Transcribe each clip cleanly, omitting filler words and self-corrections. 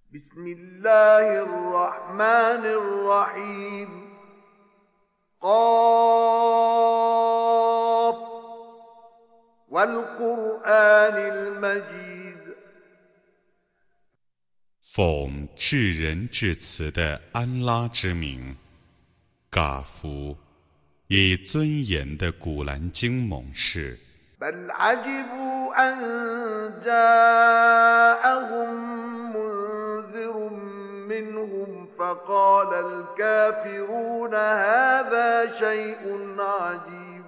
بسم الله الرحمن الرحيم قاف والقرآن المجيد 奉至仁至慈的安拉之名，嘎夫，以尊严的古兰经盟誓。 بل عجبوا أن جاءهم منذر منهم فقال الكافرون هذا شيء عجيب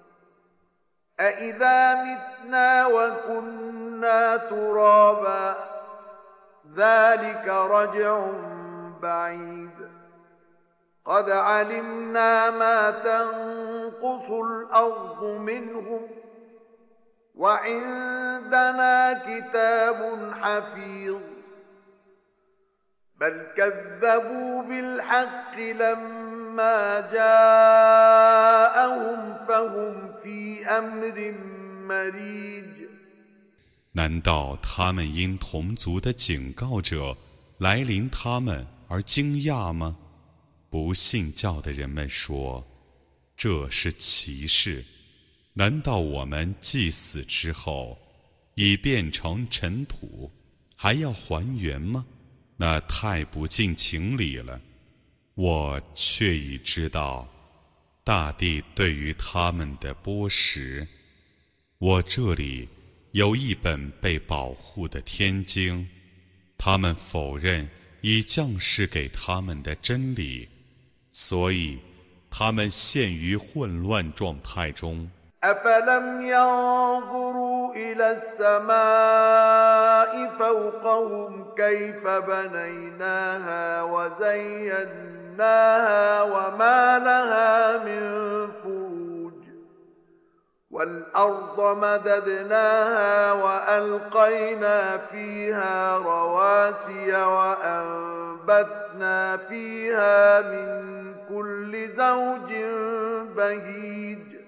أإذا متنا وكنا ترابا ذلك رجع بعيد قد علمنا ما تنقص الأرض منهم وعندنا كتاب حفيظ بل كذبوا بالحق لما جاءهم فهم في أمر مريج 难道他们因同族的警告者来临他们而惊讶吗？不信教的人们说，这是奇事。难道我们既死之后已变成尘土，还要还原吗？那太不近情理了。我却已知道大地对于他们的剥蚀。我这里有一本被保护的天经，他们否认已降世给他们的真理，所以他们陷于混乱状态中。 أفلم ينظروا إلى السماء فوقهم كيف بنيناها وزيناها وما لها من فروج والأرض مددناها وألقينا فيها رواسي وأنبتنا فيها من كل زوج بهيج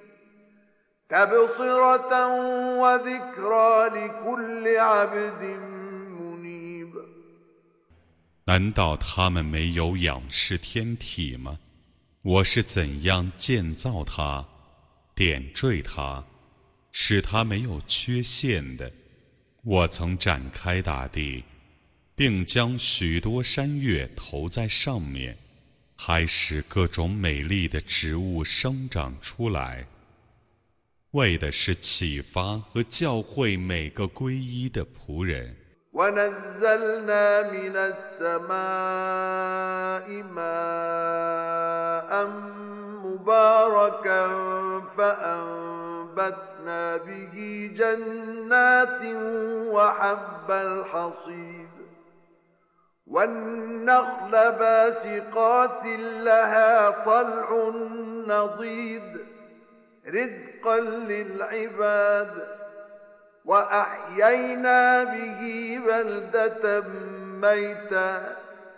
تبصرة وذكرى لكل عبد منيب 难道他们没有仰视天体吗？我是怎样建造它，点缀它，使它没有缺陷的。我曾展开大地，并将许多山岳投在上面，还使各种美丽的植物生长出来，为的是启发和教诲每个皈依的仆人。 ونزلنا من السماء ماء مباركا فأنبتنا به جنات وحب الحصيد والنخل باسقات لها طلع نضيد رزقا للعباد وأحيينا به بلدة ميتا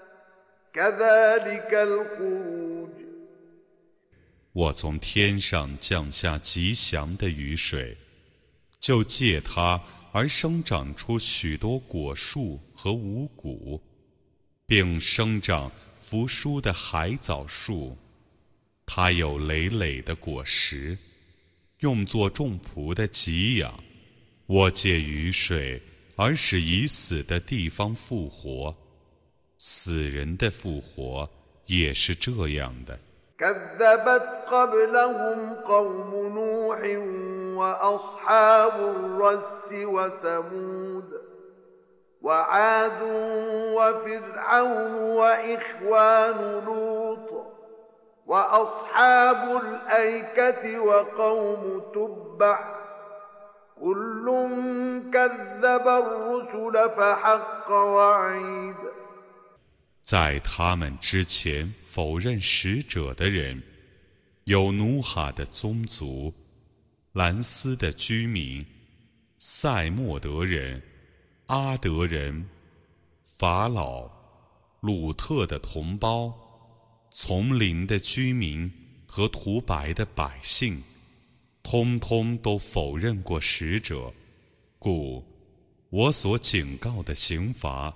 كذلك الخروج 我从天上降下吉祥的雨水，就借它而生长出许多果树和五谷，并生长扶疏的海藻树。它有累累的果实，用作众仆的给养。我借雨水而使已死的地方复活，死人的复活也是这样的。 كذبت قبلهم قوم نوح وأصحاب الرس وثمود وعاد وفرعون وإخوان لوط وأصحاب الأيكة وقوم تبع كل كذب الرسل فحق وعيد 在他们之前否认使者的人，有努哈的宗族、兰斯的居民、塞莫德人、阿德人、法老、鲁特的同胞、丛林的居民和涂白的百姓，通通都否认过使者，故我所警告的刑罚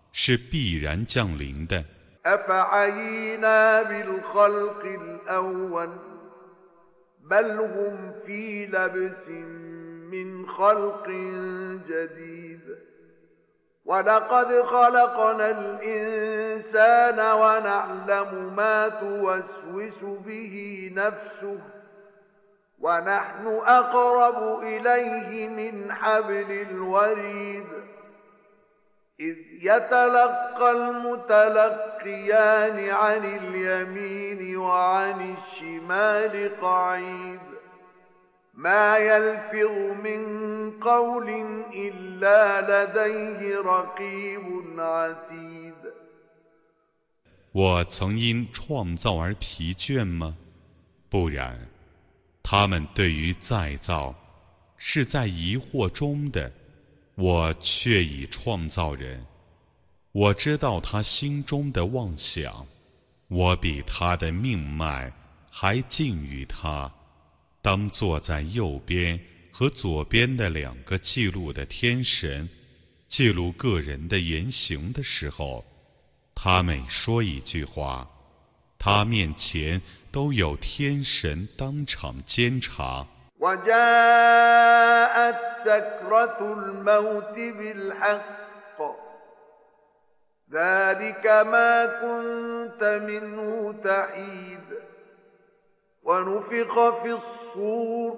是必然降临的。 أفعينا بالخلق الأول بل هم في لبس من خلق جديد ولقد خلقنا الإنسان ونعلم ما توسوس به نفسه ونحن أقرب إليه من حبل الوريد إذ يتلقى المتلقيان عن اليمين وعن الشمال قعيد ما يلفظ من قول إلا لديه رقيب عتيد 我曾因创造而疲倦吗？不然，他们对于再造是在疑惑中的。我却已创造人，我知道他心中的妄想，我比他的命脉还近于他。当坐在右边和左边的两个记录的天神记录个人的言行的时候，他每说一句话，他面前都有天神当场监察。 وجاءت سكرة الموت بالحق ذلك ما كنت منه تحيد ونفخ في الصور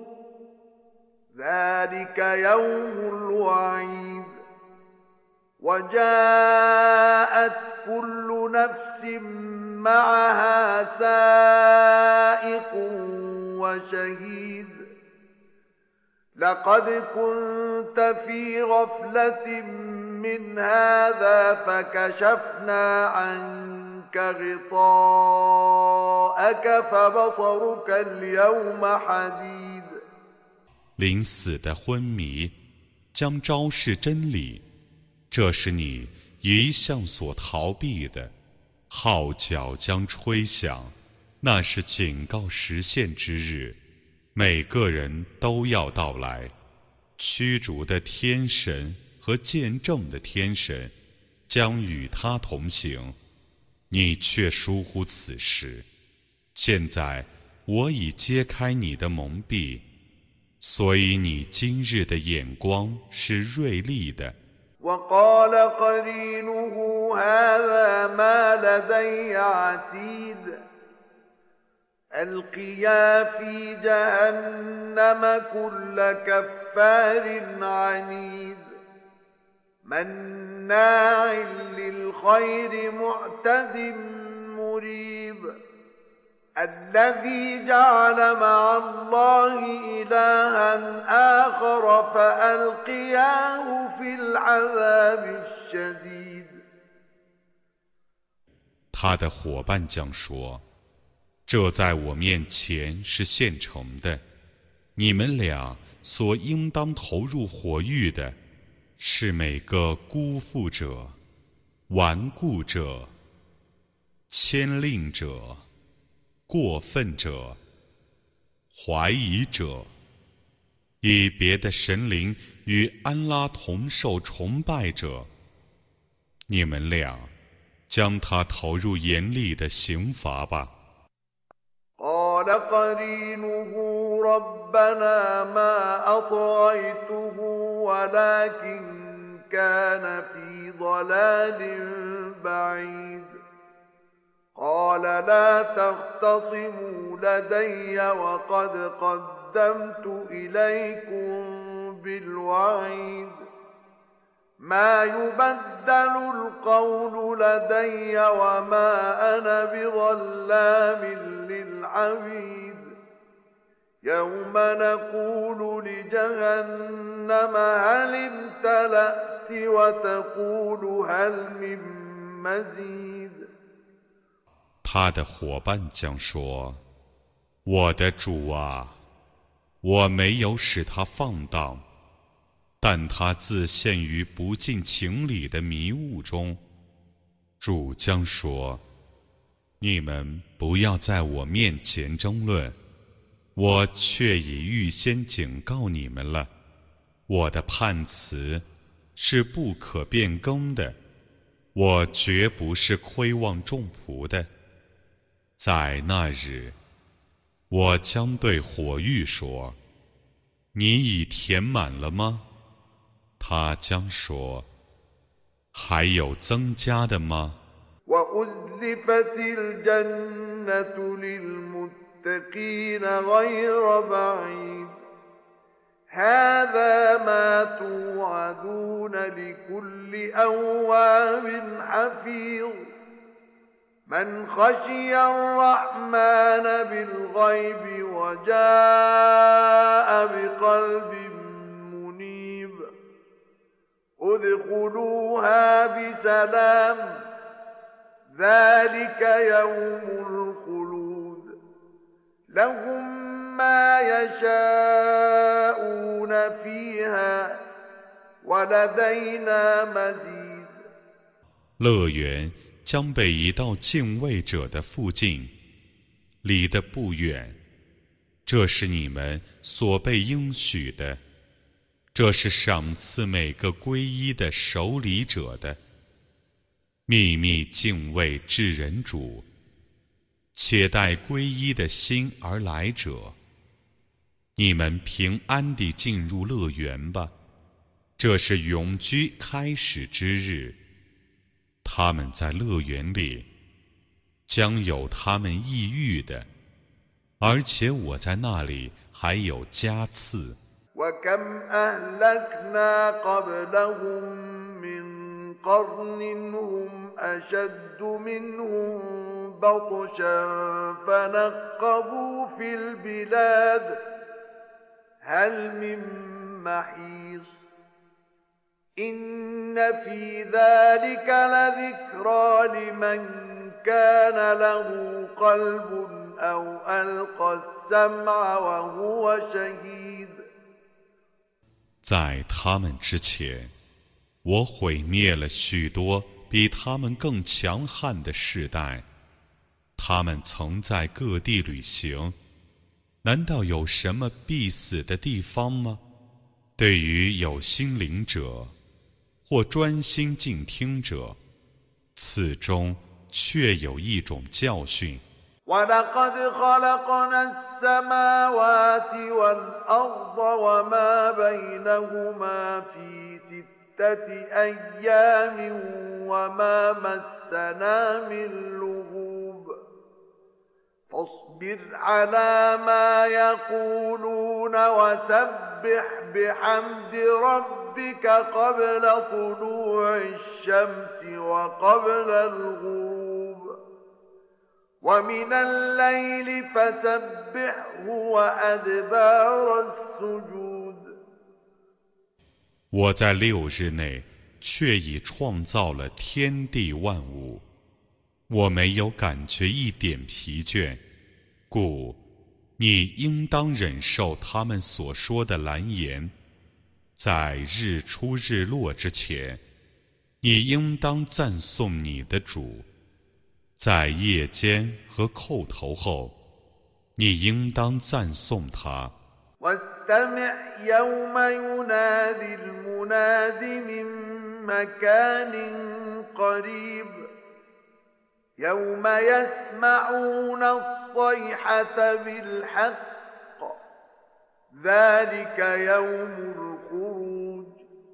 ذلك يوم الوعيد وجاءت كل نفس معها سائق وشهيد لقد كنت في غفلة من هذا فكشفنا عنك غطاءك فبصرك اليوم حديد 临死的昏迷将昭示真理，这是你一向所逃避的。号角将吹响，那是警告实现之日。每个人都要到来，驱逐的天神和见证的天神将与他同行，你却疏忽此事。现在我已揭开你的蒙蔽，所以你今日的眼光是锐利的。 وقال قرينه هذا ما لدي عتيد ألقيا في جهنم كل كفار عنيد مناع للخير معتد مريب الذي جعل مع الله إلها آخر فألقياه في العذاب الشديد 他的伙伴将说，这在我面前是现成的，你们俩所应当投入火狱的，是每个辜负者、顽固者、牵令者、过分者、怀疑者，以别的神灵与安拉同受崇拜者，你们俩将他投入严厉的刑罚吧。 قال قرينه ربنا ما أطغيته ولكن كان في ضلال بعيد قال لا تختصموا لدي وقد قدمت إليكم بالوعيد ما يبدل القول لدي وما أنا بظلام للعبيد يوم نقول لجهنم هل امتلأت وتقول هل من مزيد 他的伙伴将说，我的主啊，我没有使他放荡，但他自陷于不近情理的迷雾中。主将说，你们不要在我面前争论，我却已预先警告你们了。我的判词是不可变更的， 我绝不是亏望众仆的。在那日，我将对火域说：你已填满了吗？他将说：还有增加的吗？ وأزلفت الجنة للمتقين غير بعيد هذا ما توعدون لكل أواب حفيظ من خشي الرحمن بالغيب وجاء بقلب منيب ادخلوها بسلام ذلك يوم الخلود لهم ما يشاءون فيها ولدينا مزيد 乐园将被移到敬畏者的附近，离得不远。这是你们所被应许的，这是赏赐每个皈依的守礼者的。秘密敬畏至人主，且待皈依的心而来者。你们平安地进入乐园吧，这是永居开始之日。他们在乐园里将有他们抑郁的，而且我在那里还有加赐。 وكم أهلكنا قبلهم من قرن هم أشد منهم بطشا فنقبوا في البلاد هل من محيص إن في ذلك لذكرى لمن كان له قلب أو ألقى السمع وهو شهيد 在他们之前，我毁灭了许多比他们更强悍的世代。他们曾在各地旅行，难道有什么必死的地方吗？对于有心灵者或专心静听者，此中确有一种教训。 ولقد خلقنا السماوات والأرض وما بينهما في ستة أيام وما مسنا من لغوب فاصبر على ما يقولون وسبح بحمد ربك قبل طلوع الشمس وقبل الغروب ومن الليل فسبحه وأدبار السجود 我在6日内却已创造了天地万物，我没有感觉一点疲倦，故你应当忍受他们所说的蓝言。在日出日落之前，你应当赞颂你的主。在夜间和叩头后，你应当赞颂他。 واستمع يوم ينادي المناد من مكان قريب يوم يسمعون الصيحة بالحق ذلك يوم الخروج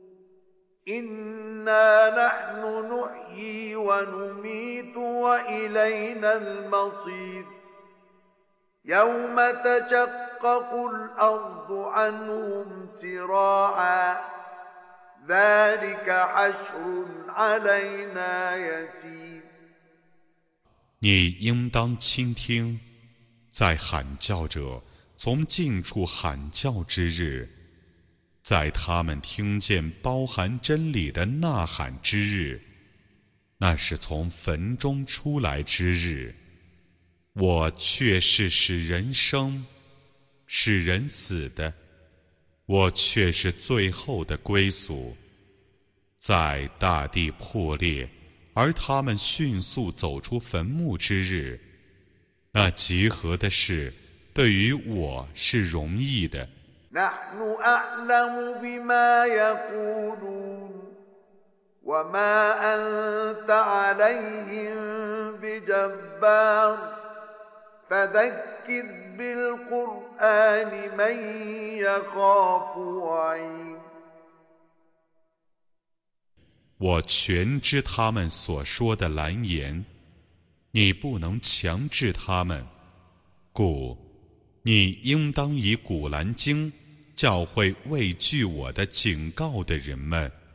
إنا نحن نحيي ونميت وإلينا المصير يوم تشقق الأرض عنهم سراعا ذلك حشر علينا يسير 你应当倾听，在喊叫者从近处喊叫之日，在他们听见包含真理的呐喊之日，那是从坟中出来之日。我却是使人生，使人死的，我却是最后的归宿。在大地破裂，而他们迅速走出坟墓之日，那集合的事对于我是容易的。 نحن أعلم بما يقولون وما أنت عليهم بجبار فذكر بالقرآن من يخاف وعيد 我全知他们所说的蓝言，你不能强制他们，故你应当以古兰经教诲畏惧我的警告的人们。